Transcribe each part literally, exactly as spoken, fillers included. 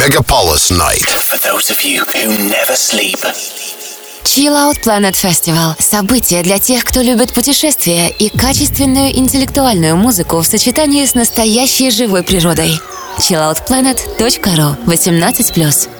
Megapolis Night. For those of you who never sleep. Chill Out Planet Festival – событие для тех, кто любит путешествия и качественную интеллектуальную музыку в сочетании с настоящей живой природой. чилл аут планет точка ру. восемнадцать плюс.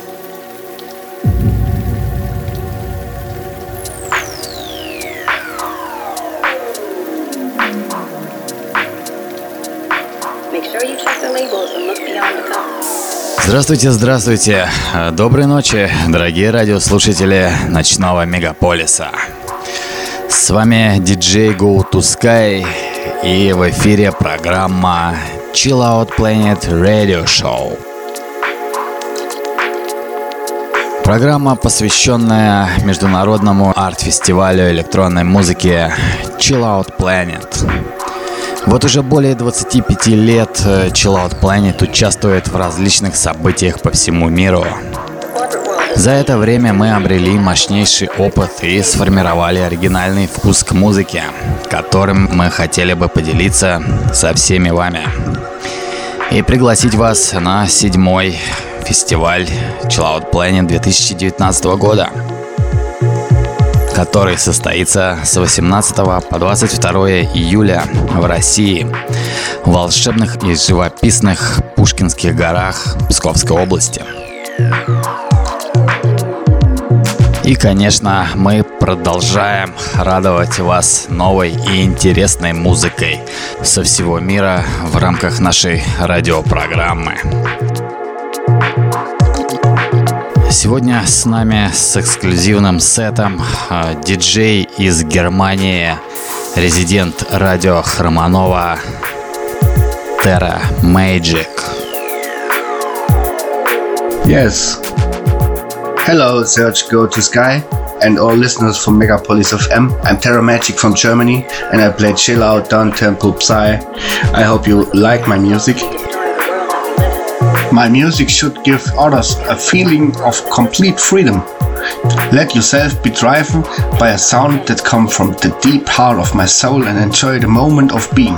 Здравствуйте, здравствуйте. Доброй ночи, дорогие радиослушатели ночного мегаполиса. С вами диджей Go to Sky, и в эфире программа Chill Out Planet Radio Show. Программа, посвященная международному арт-фестивалю электронной музыки Chill Out Planet. Вот уже более двадцати пяти лет Chill Out Planet участвует в различных событиях по всему миру. За это время мы обрели мощнейший опыт и сформировали оригинальный вкус к музыке, которым мы хотели бы поделиться со всеми вами. И пригласить вас на седьмой фестиваль Chill Out Planet две тысячи девятнадцатого года, который состоится с восемнадцатого по двадцать второе июля в России, в волшебных и живописных Пушкинских горах Псковской области. И, конечно, мы продолжаем радовать вас новой и интересной музыкой со всего мира в рамках нашей радиопрограммы. Сегодня с нами с эксклюзивным сетом э, диджей из Германии, резидент радио Хромонова Terra Magic. Yes. Hello, Serge Go to Sky and all listeners from Megapolis F M. I'm Terra Magic from Germany and I play chill out, down-tempo psy. I hope you like my music. My music should give others a feeling of complete freedom. Let yourself be driven by a sound that comes from the deep heart of my soul and enjoy the moment of being.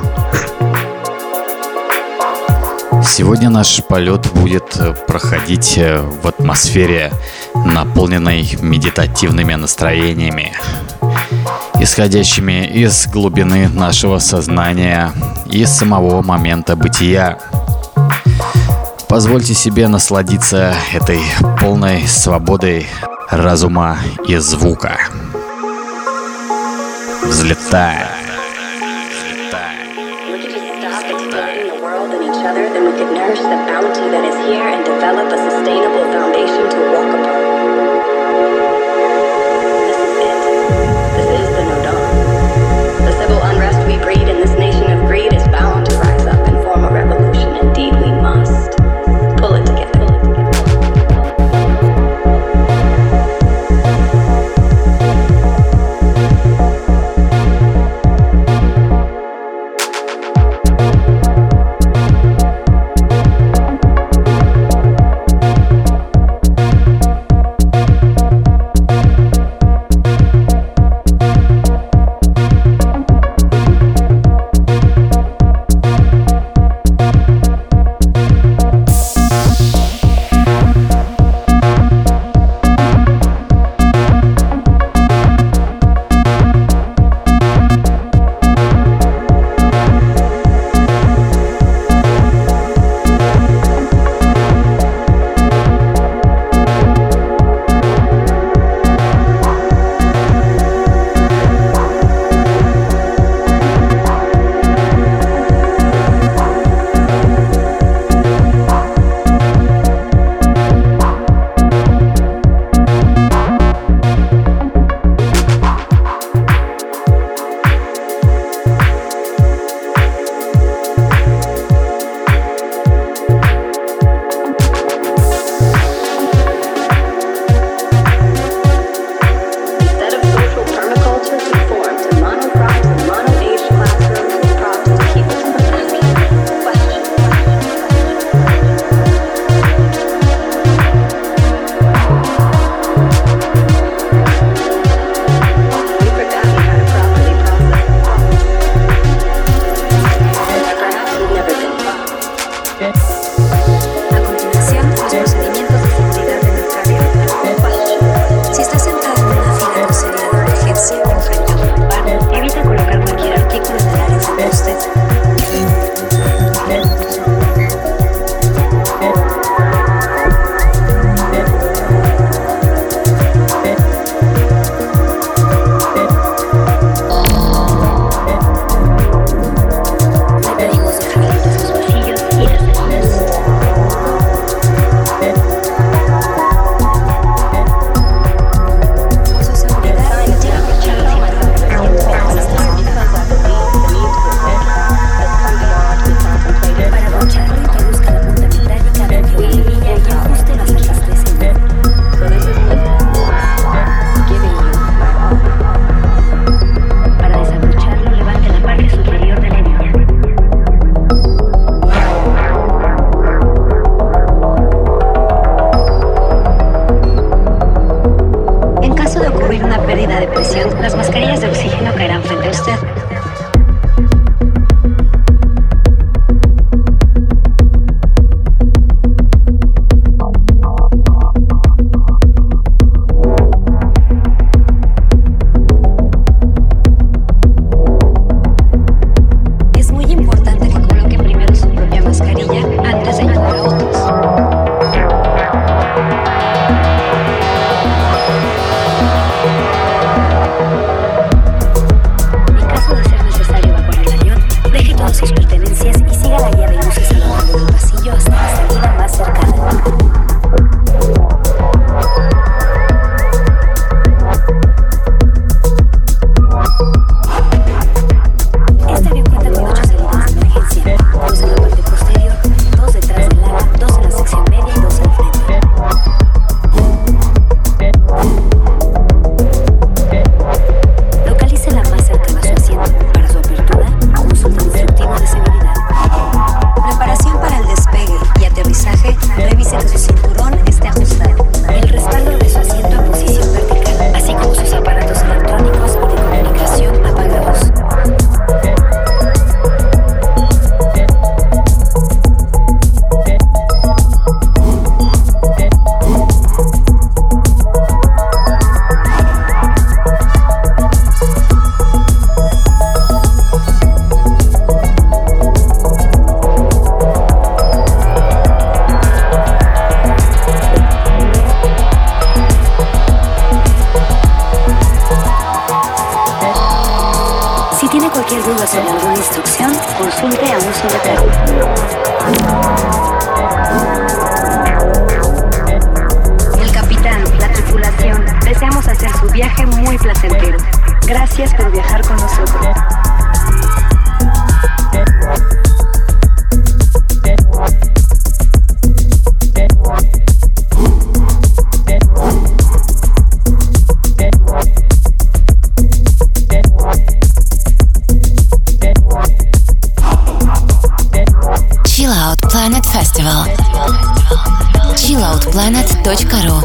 Сегодня наш полет будет проходить в атмосфере, наполненной медитативными настроениями, исходящими из глубины нашего сознания и самого момента бытия. Позвольте себе насладиться этой полной свободой разума и звука. Взлетаем. procedimientos de seguridad de nuestra vida. Si estás sentado en una fila con salida de emergencia o frente a un bar, evita colocar cualquier artículo en el área de usted. Las mascarillas de oxígeno caerán frente a usted. Es muy importante que coloque primero su propia mascarilla antes de ayudar a otros. Sus pertenencias y siga la guía de luces a lo largo del pasillo hasta la salida más cercana. Este avión cuenta con ocho salidas de emergencia, dos en la parte posterior, dos detrás del ala, dos en la sección media y dos al frente. Localice la más cercana a su asiento. Para su apertura, consulte el instructivo de seguridad. Preparación para el despegue y aterrizaje. Revise que su cinturón esté ajustado. El respaldo de su asiento en posición vertical, así como sus aparatos electrónicos y de comunicación apagados. Si tiene cualquier duda sobre alguna instrucción, consulte a un secretario. El capitán, la tripulación, deseamos hacer su viaje muy placentero. Gracias por viajar con nosotros. Chillout Planet Festival. chillout planet точка ру.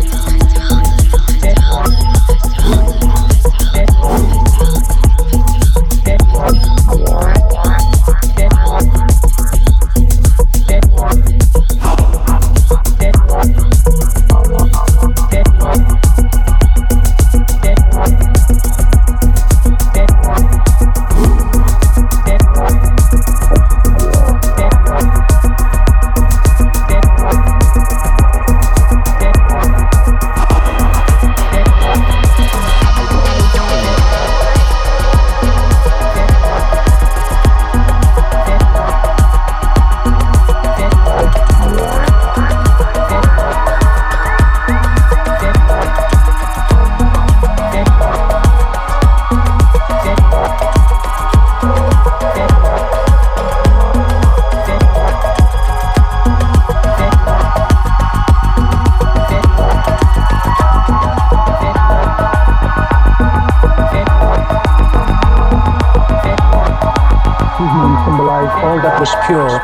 All that was pure.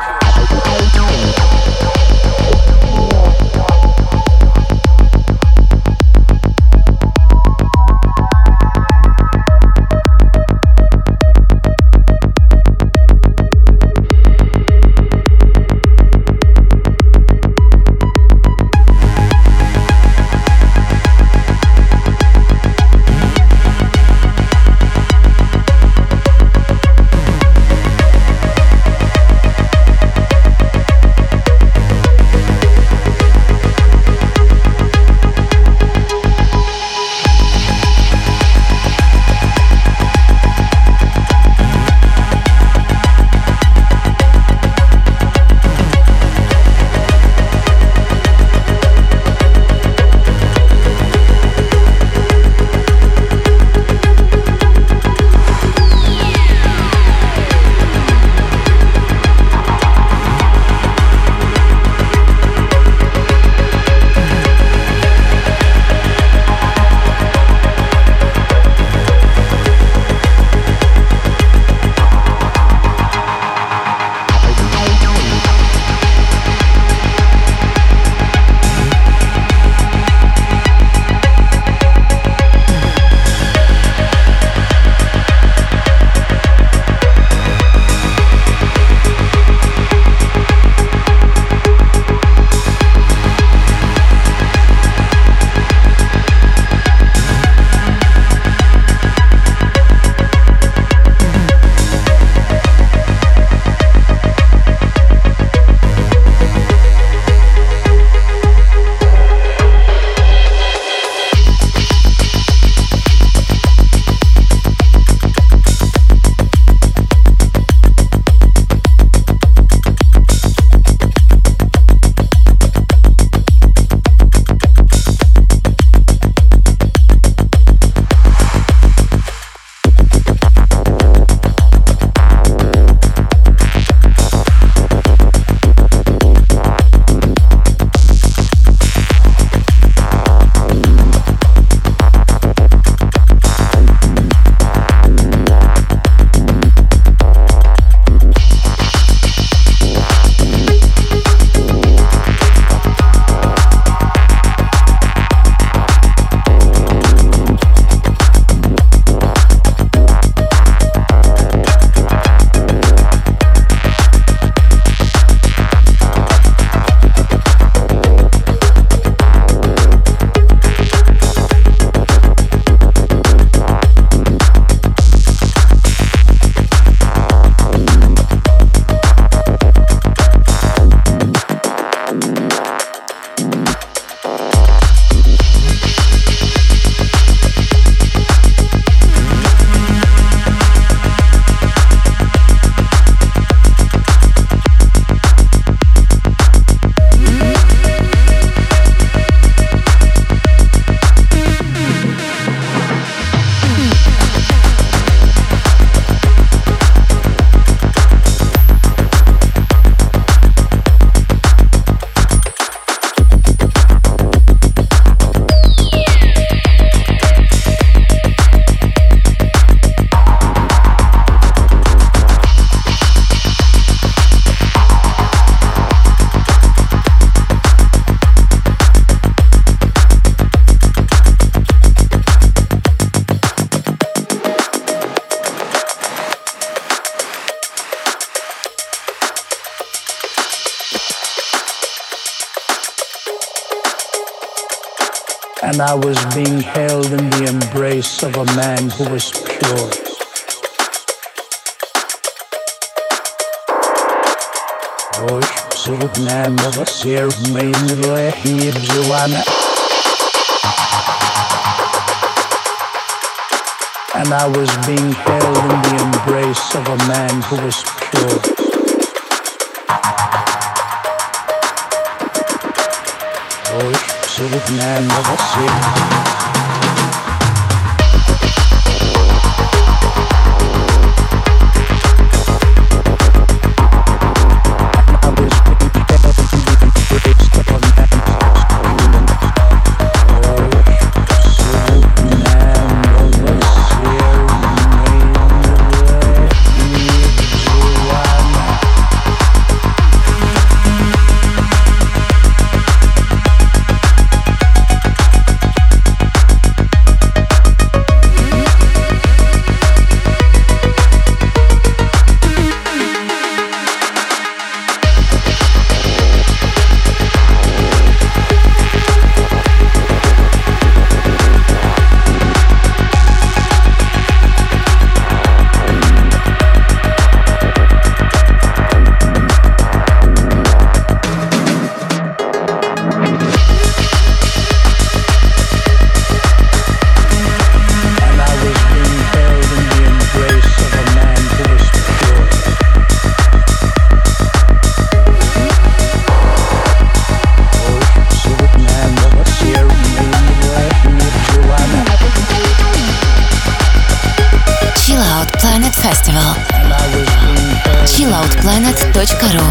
and I was being held in the embrace of a man who was pure. Ой, судненного серминного и Джоанна. And I was being held in the embrace of a man who was pure. Ой, судненного серминного. чилл аут планет точка ру.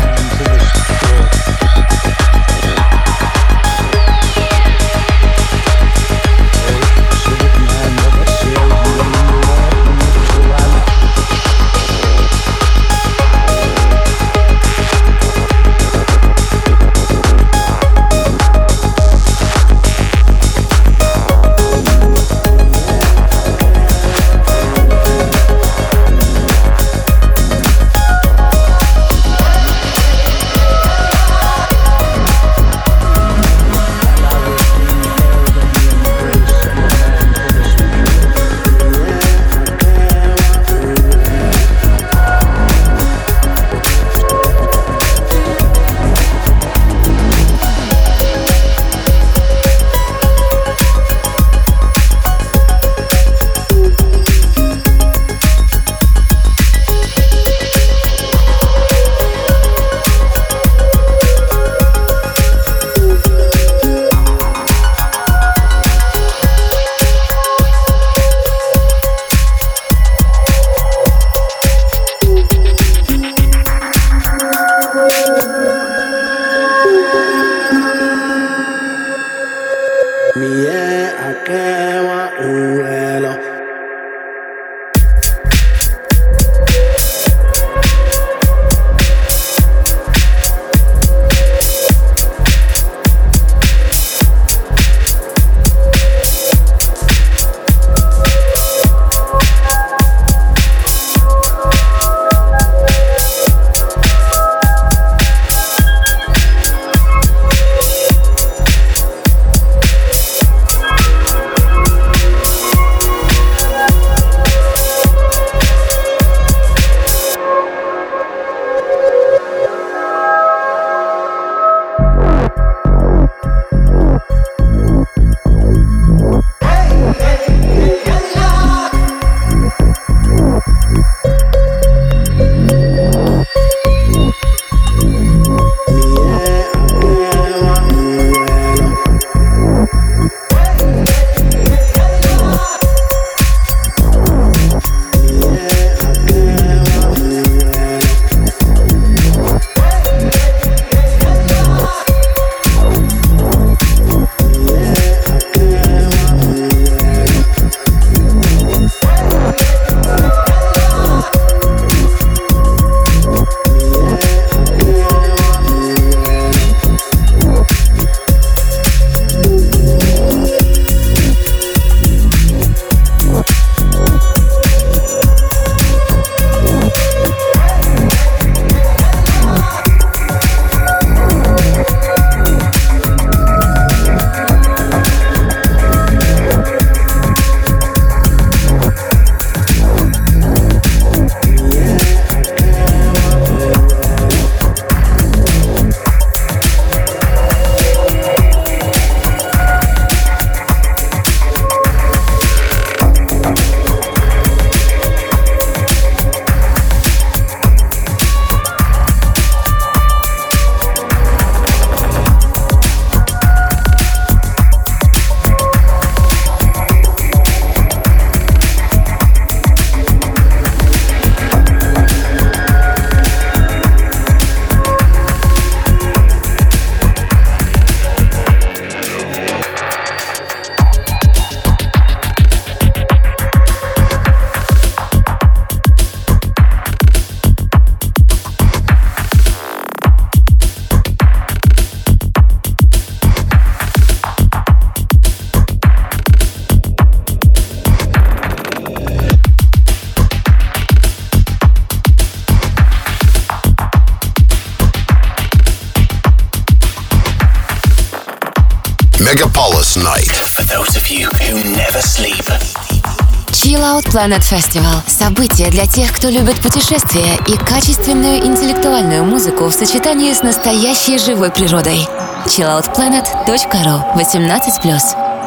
Megapolis Night. For those of you who never sleep. Chill Out Planet Festival – событие для тех, кто любит путешествия и качественную интеллектуальную музыку в сочетании с настоящей живой природой. чилл аут планет точка ру, восемнадцать плюс.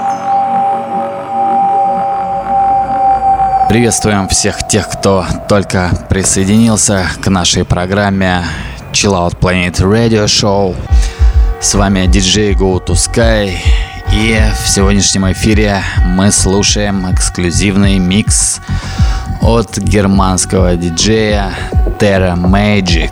Приветствуем всех тех, кто только присоединился к нашей программе Chill Out Planet Radio Show. С вами диджей Go to Sky. И в сегодняшнем эфире мы слушаем эксклюзивный микс от германского диджея Terra Magic.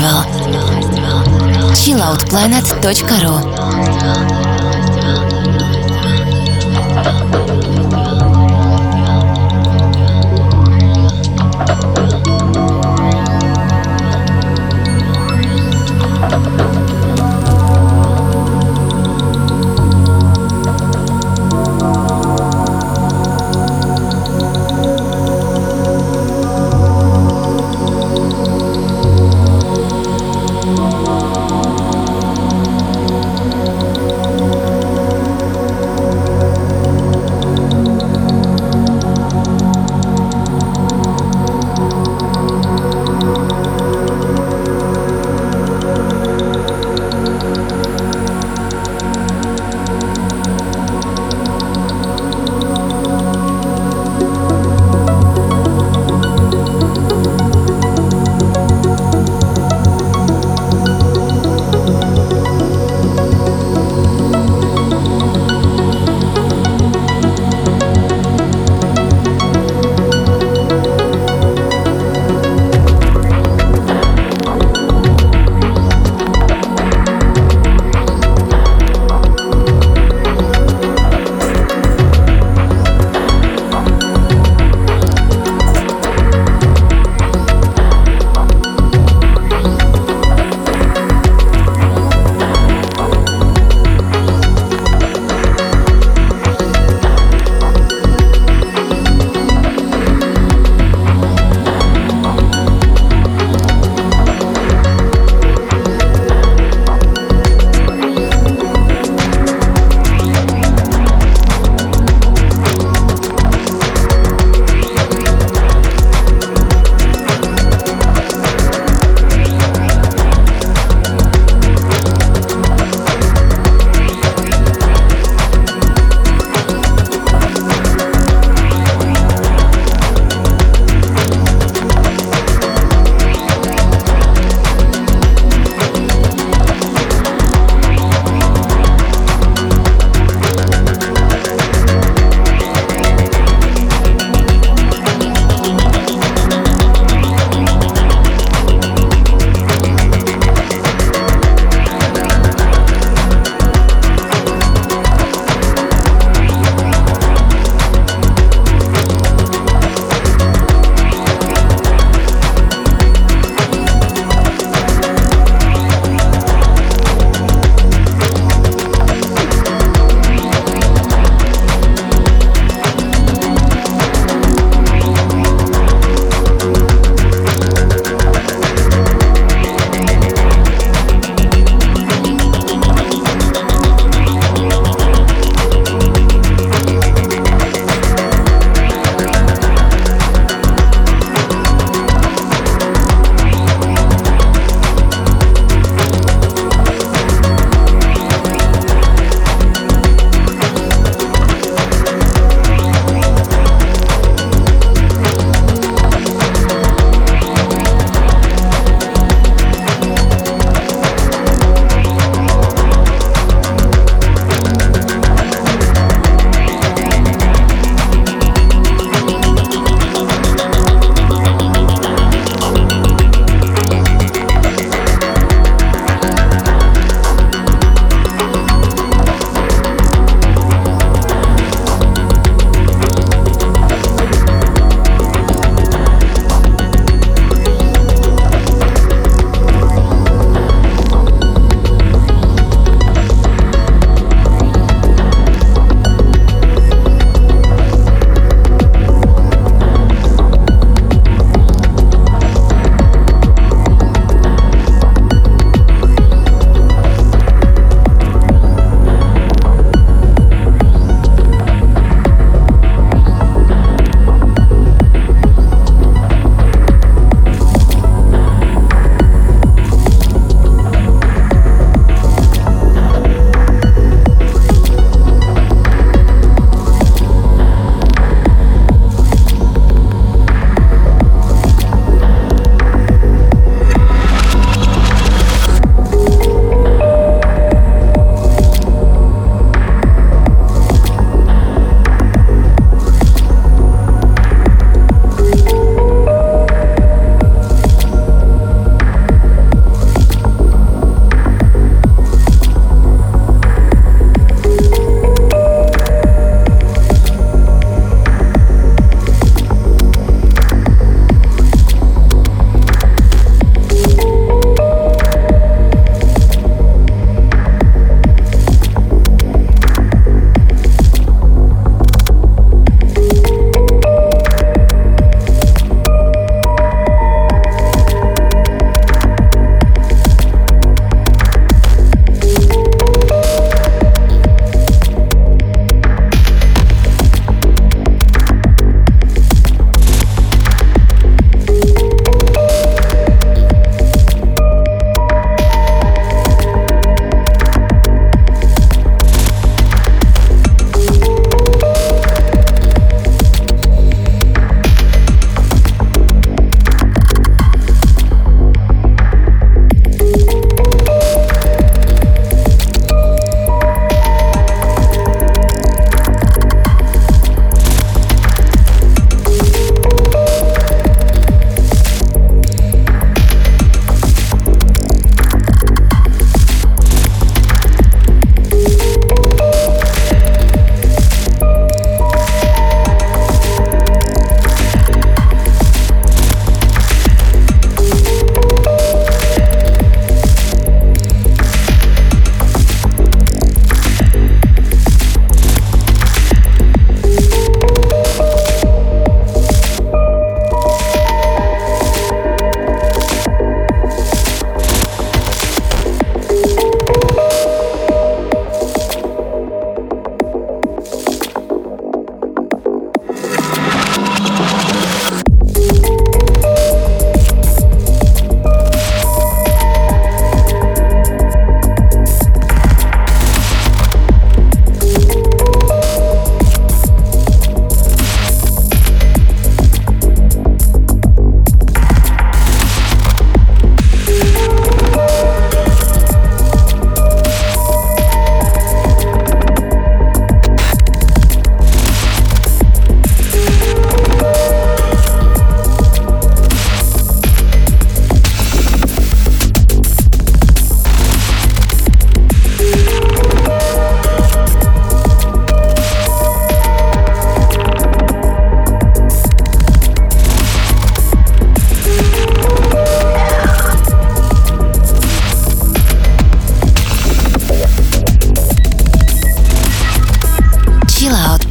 Festival. чилл аут планет точка ру.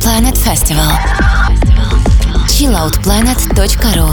Planet Festival. чилл аут планет точка ру.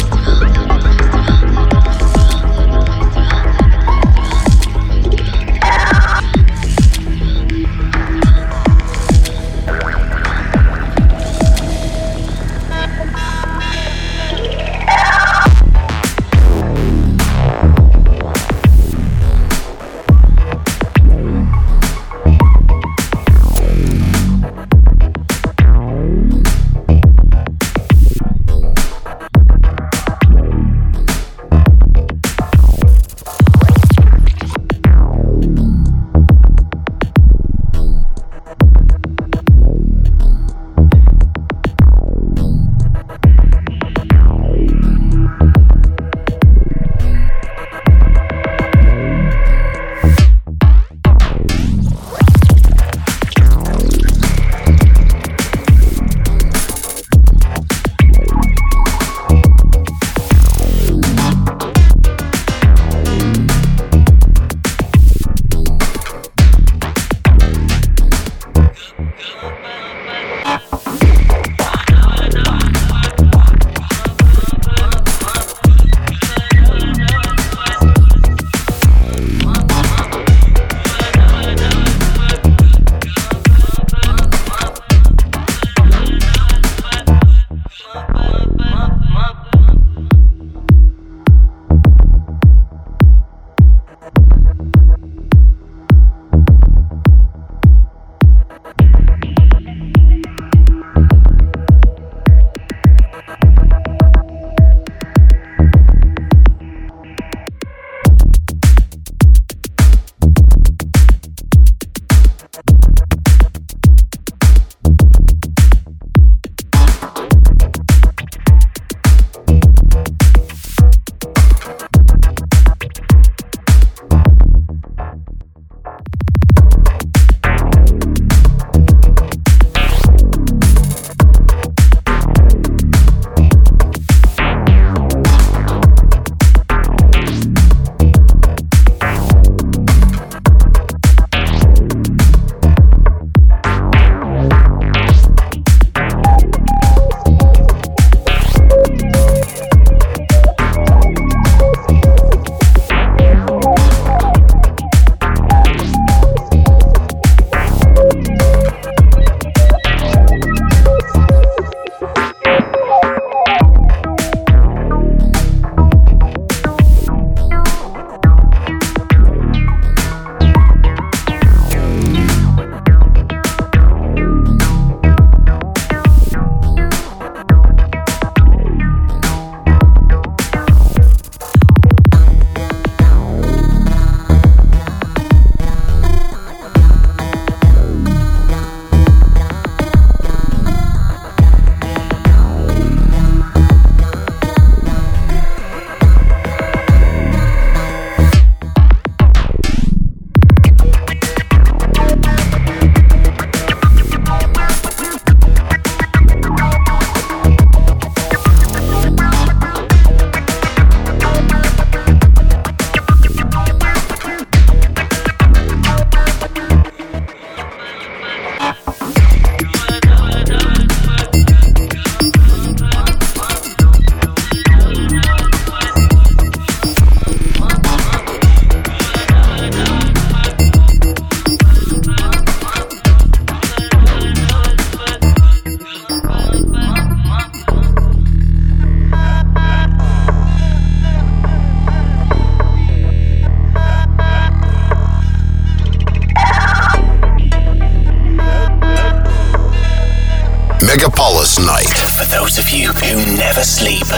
Megapolis Night. For those of you who never sleep.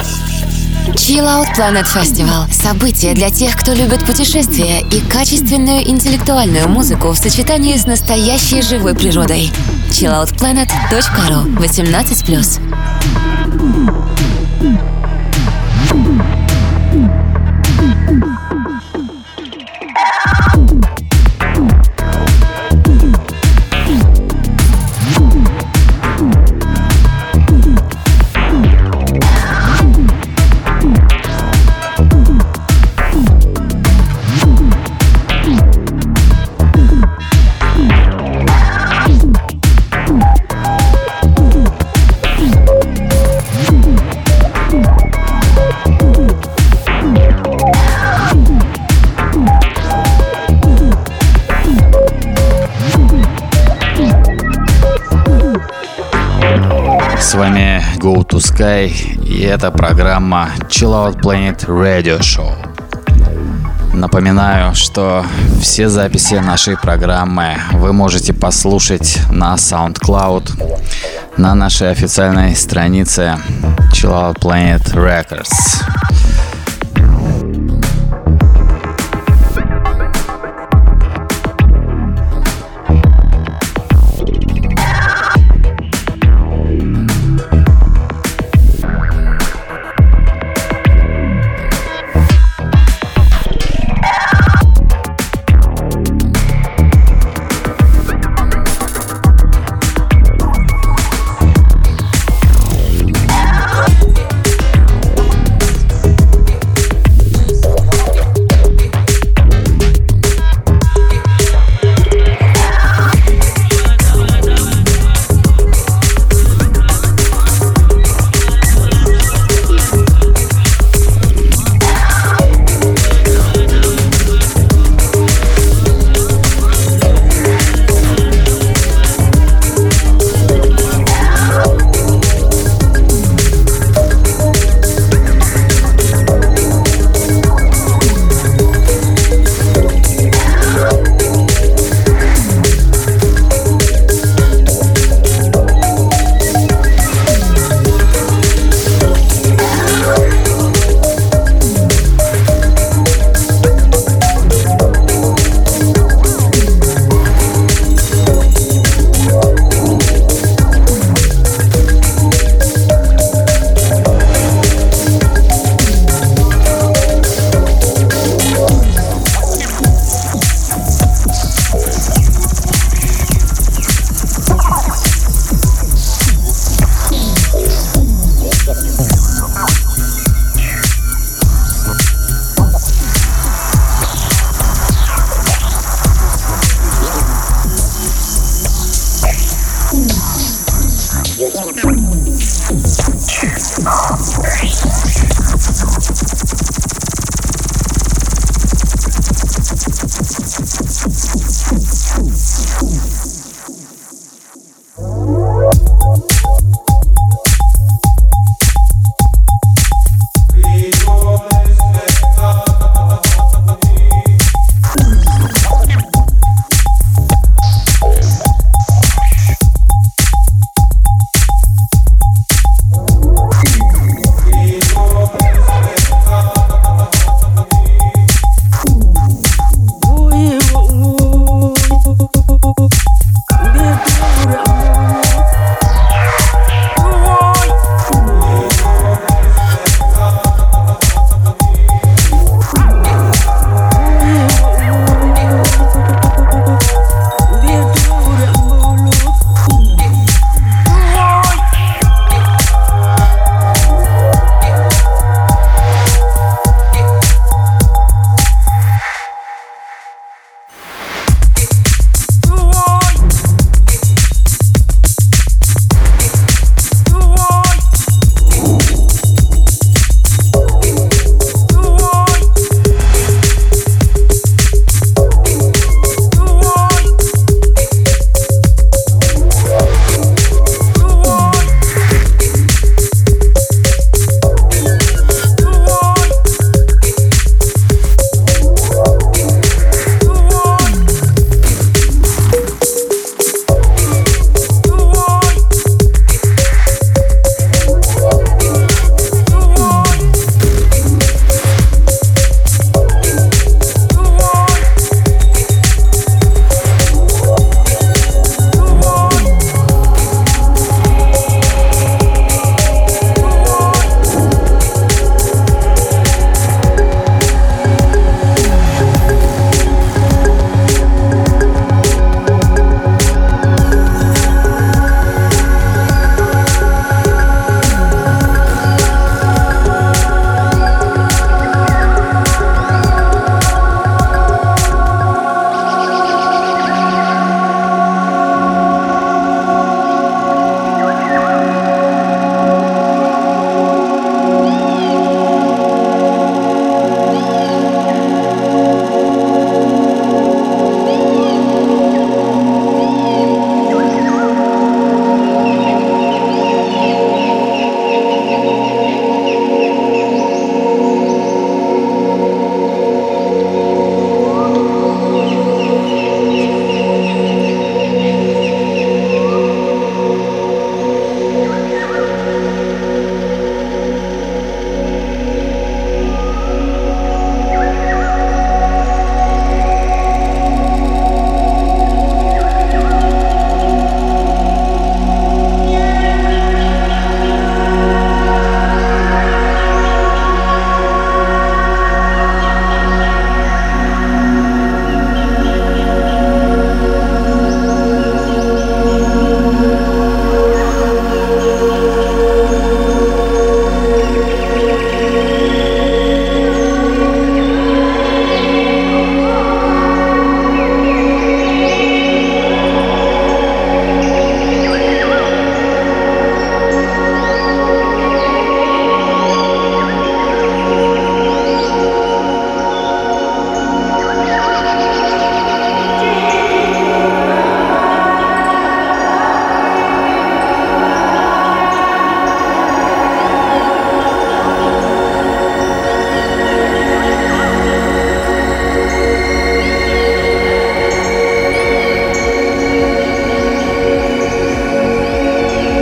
Chill Out Planet Festival – событие для тех, кто любит путешествия и качественную интеллектуальную музыку в сочетании с настоящей живой природой. чилл аут планет точка ру. восемнадцать плюс. С вами Go to Sky, и это программа Chill Out Planet Radio Show. Напоминаю, что все записи нашей программы вы можете послушать на SoundCloud, на нашей официальной странице Chill Out Planet Records.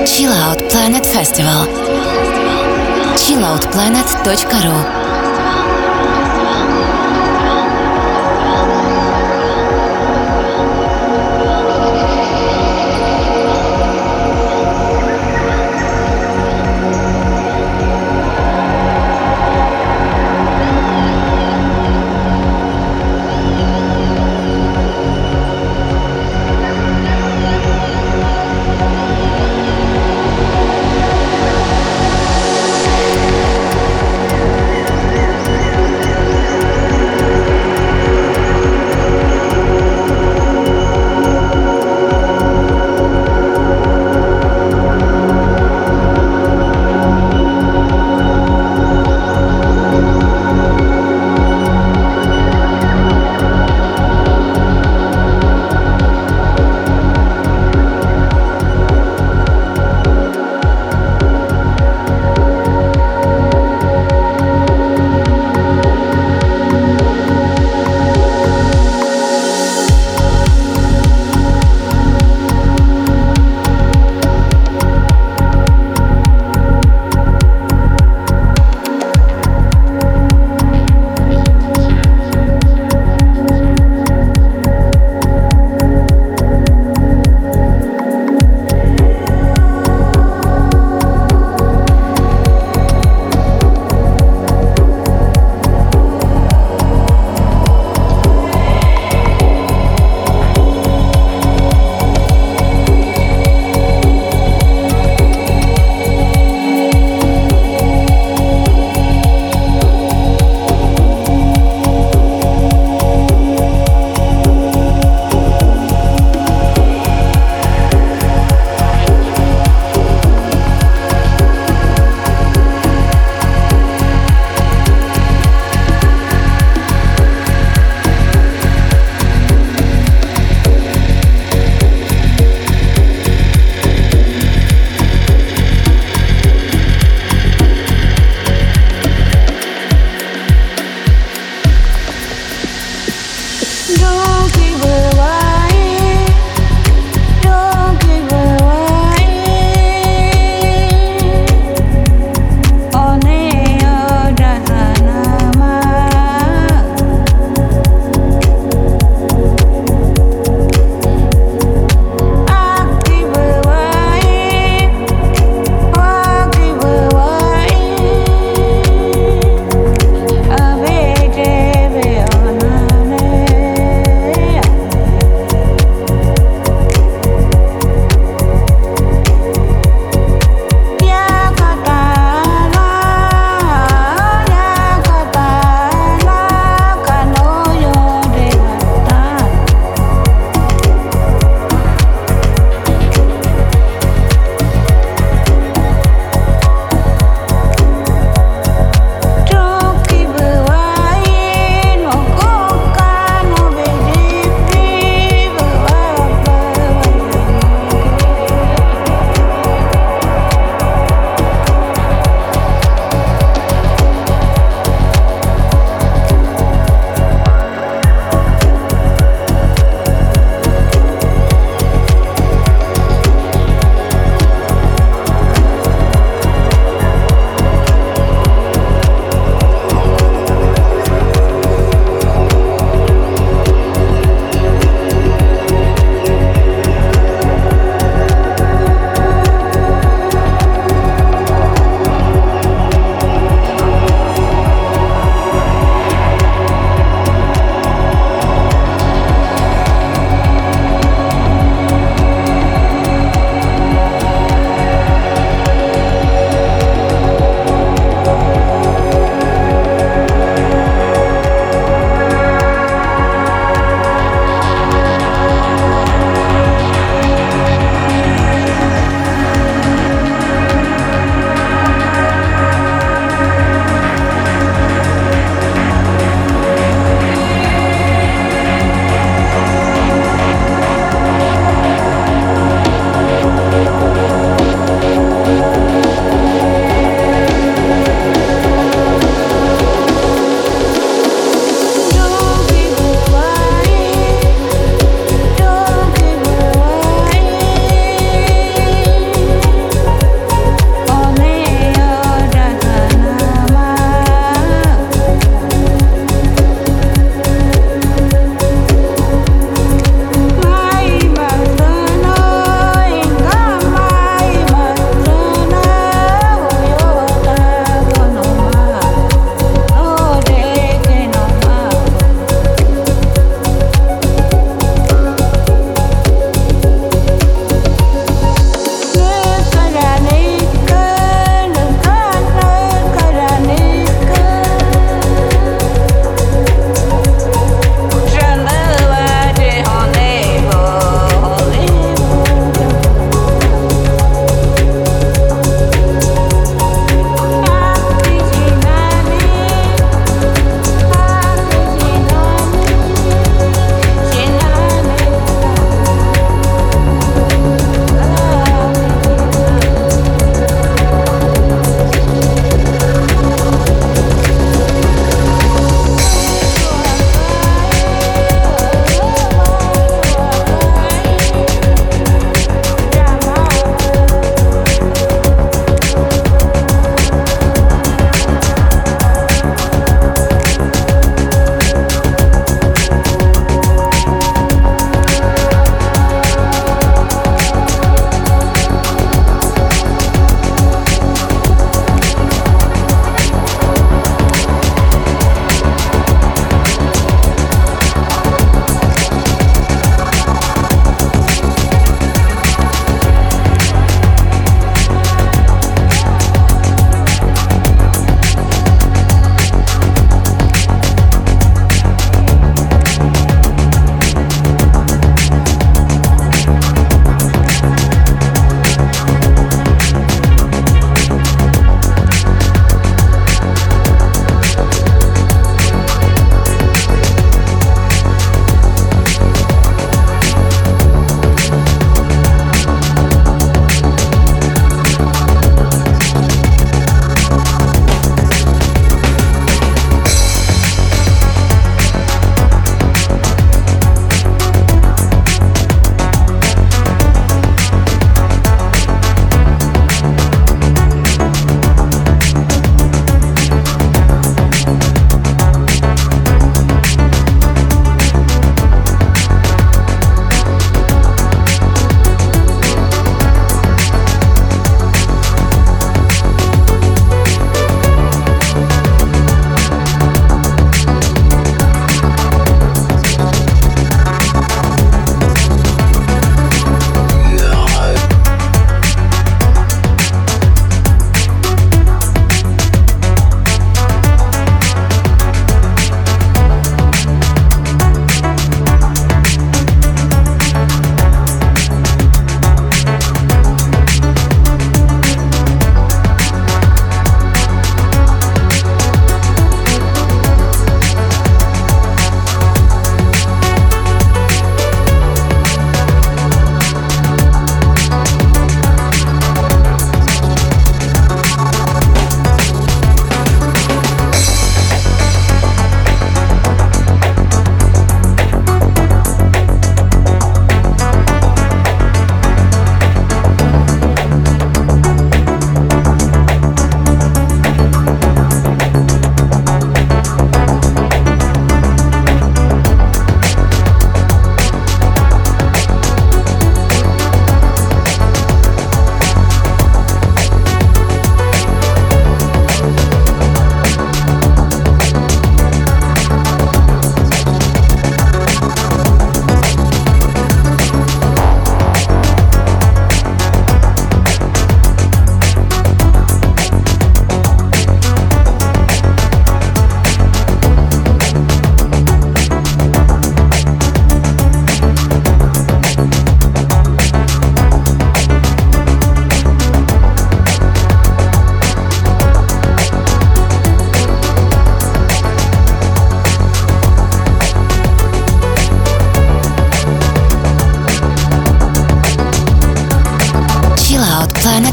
Chill Out Planet Festival. чилл аут планет точка ру.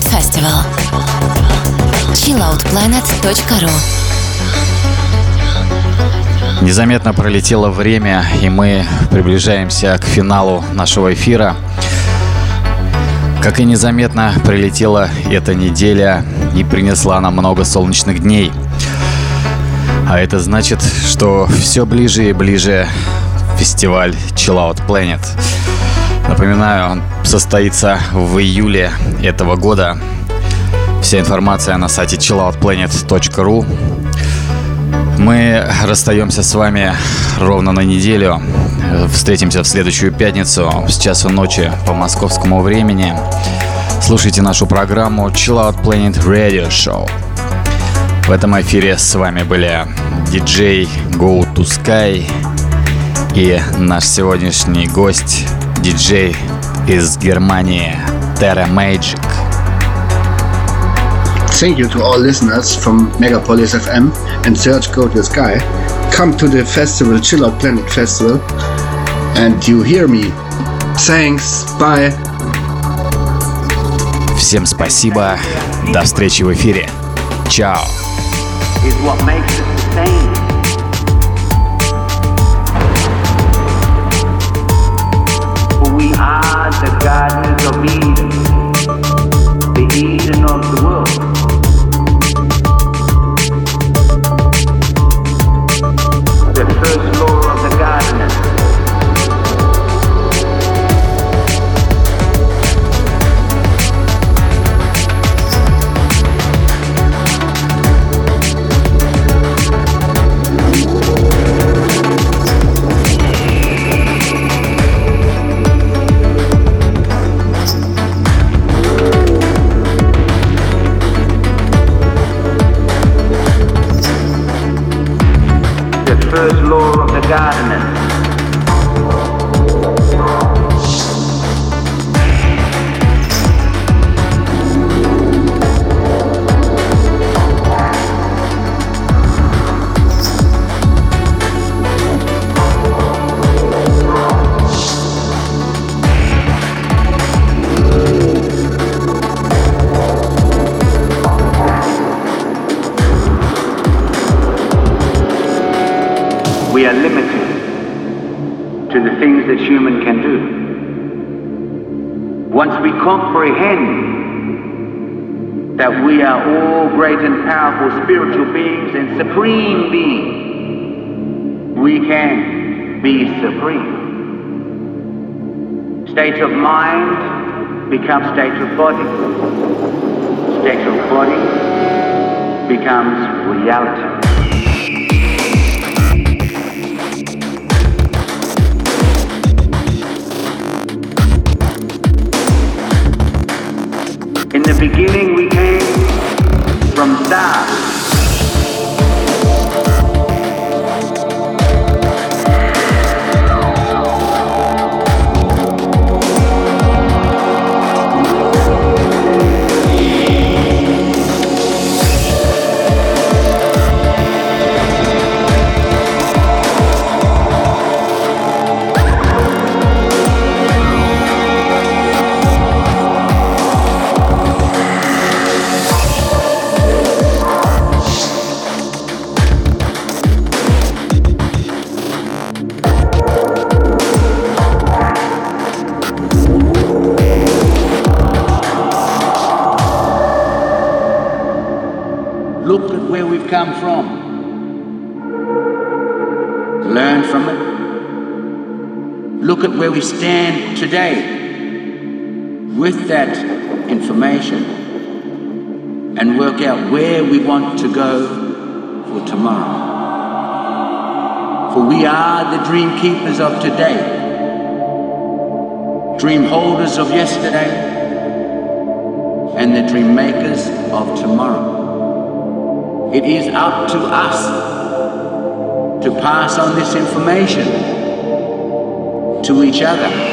Planet Festival. чилл аут планет точка ру. Незаметно пролетело время, и мы приближаемся к финалу нашего эфира. Как и незаметно прилетела эта неделя и принесла нам много солнечных дней. А это значит, что все ближе и ближе фестиваль Chill Out Planet. Напоминаю, он состоится в июле этого года. Вся информация на сайте чилл аут планет точка ру. Мы расстаемся с вами ровно на неделю. Встретимся в следующую пятницу с часу ночи по московскому времени. Слушайте нашу программу Chill Out Planet Radio Show. В этом эфире с вами были диджей Go to Sky и наш сегодняшний гость, диджей из Германии Terra Magic. Thank you to all listeners from Megapolis эф эм and Search Go to Sky. Come to the festival, Chill Out Planet Festival, and you hear me. Thanks, bye. Всем спасибо. До встречи в эфире. Чао. Is what makes us the same. For we are the gardens of Eden, the Eden of the world. The first law of the gardener. First law of the gardener. We are limited to the things that human can do. Once we comprehend that we are all great and powerful spiritual beings and supreme beings, we can be supreme. State of mind becomes state of body. State of body becomes reality. In the beginning we came from stars. Look at where we've come from. Learn from it. Look at where we stand today with that information and work out where we want to go for tomorrow. For we are the dream keepers of today, dream holders of yesterday, and the dream makers of tomorrow. It is up to us to pass on this information to each other.